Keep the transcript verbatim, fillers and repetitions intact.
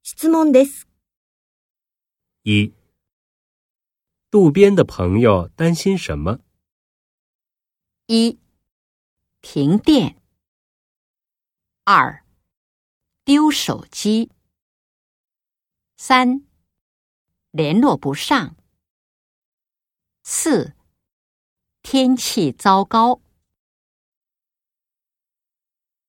質問です。 一、路边的朋友担心什么？ 一、停电。二、丢手机。三、联络不上。四、天气糟糕。